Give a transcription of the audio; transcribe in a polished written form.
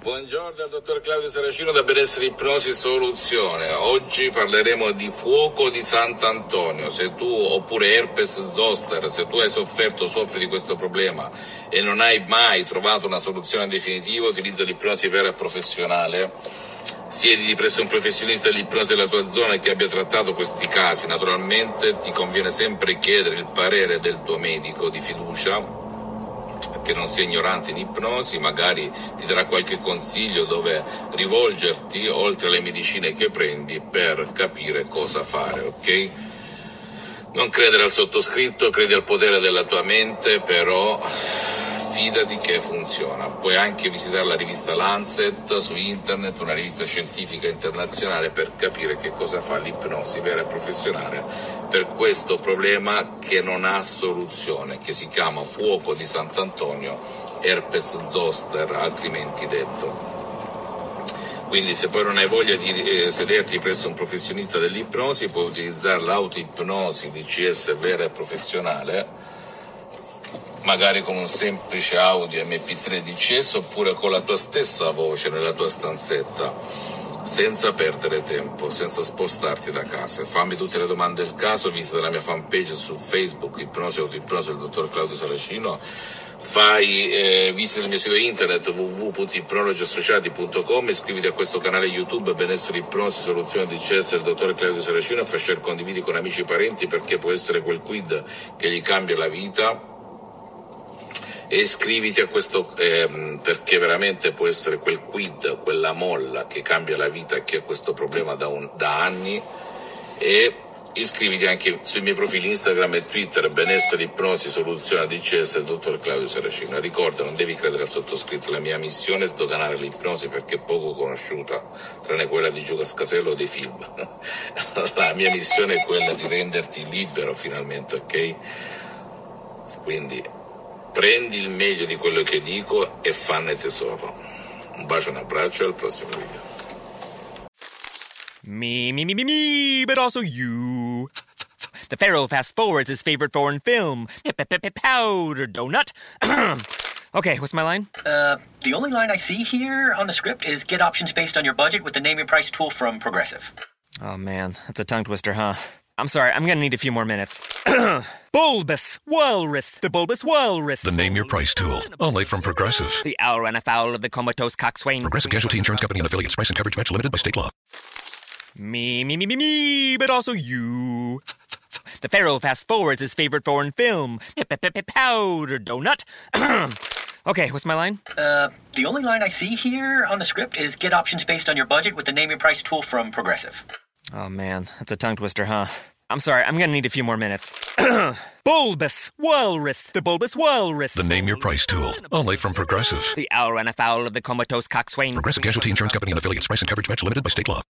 Buongiorno dal dottor Claudio Saracino da Benessere Ipnosi Soluzione. Oggi parleremo di fuoco di Sant'Antonio. Se tu, oppure herpes zoster, se tu hai sofferto o soffri di questo problema e non hai mai trovato una soluzione definitiva, utilizza l'ipnosi vera e professionale. Siediti presso un professionista dell'ipnosi della tua zona che abbia trattato questi casi. Naturalmente ti conviene sempre chiedere il parere del tuo medico di fiducia, che non sia ignorante in ipnosi, magari ti darà qualche consiglio dove rivolgerti oltre alle medicine che prendi per capire cosa fare, ok? Non credere al sottoscritto, credi al potere della tua mente, però fidati che funziona. Puoi anche visitare la rivista Lancet su internet, una rivista scientifica internazionale, per capire che cosa fa l'ipnosi vera e professionale per questo problema che non ha soluzione, che si chiama fuoco di Sant'Antonio, herpes zoster altrimenti detto. Quindi se poi non hai voglia di sederti presso un professionista dell'ipnosi, puoi utilizzare l'autoipnosi DCS vera e professionale, magari con un semplice audio MP3 DCS oppure con la tua stessa voce nella tua stanzetta, senza perdere tempo, senza spostarti da casa. Fammi tutte le domande del caso, visita la mia fanpage su Facebook, Ipnosi Autoipnosi del dottor Claudio Saracino, visita il mio sito internet www.ipnologiassociati.com, iscriviti a questo canale YouTube Benessere Ipnosi Soluzione DCS del dottor Claudio Saracino e fai share, condividi con amici e parenti, perché può essere quel quid che gli cambia la vita. E iscriviti a questo perché veramente può essere quel quid, quella molla che cambia la vita a chi ha questo problema da anni. E iscriviti anche sui miei profili Instagram e Twitter Benessere Ipnosi Soluzione DCS del dottor Claudio Saracino. Ricorda, non devi credere al sottoscritto, la mia missione è sdoganare l'ipnosi perché è poco conosciuta, tranne quella di Giuca Scasella o dei film. La mia missione è quella di renderti libero finalmente, ok? Quindi prendi il meglio di quello che dico e fanne tesoro. Un bacio e un abbraccio e al prossimo video. Me, but also you. The Pharaoh fast forwards his favorite foreign film, Powder Donut. Okay, what's my line? The only line I see here on the script is get options based on your budget with the Name Your Price tool from Progressive. Oh man, that's a tongue twister, huh? I'm sorry, I'm gonna need a few more minutes. Bulbous Walrus, the Bulbous Walrus. The Name Your Price tool, only from Progressive. The owl ran afoul of the comatose coxswain. Progressive Casualty Insurance Company and affiliates. Price and coverage match limited by state law. Me, but also you. The Pharaoh fast forwards his favorite foreign film, Powder Donut. Okay, what's my line? The only line I see here on the script is get options based on your budget with the Name Your Price tool from Progressive. Oh man, that's a tongue twister, huh? I'm sorry, I'm gonna need a few more minutes. Bulbous Walrus, the Bulbous Walrus. The Name Your Price tool, only from Progressive. The owl ran afoul of the comatose coxswain. Progressive Casualty Insurance Company and affiliates. Price and coverage match limited by state law.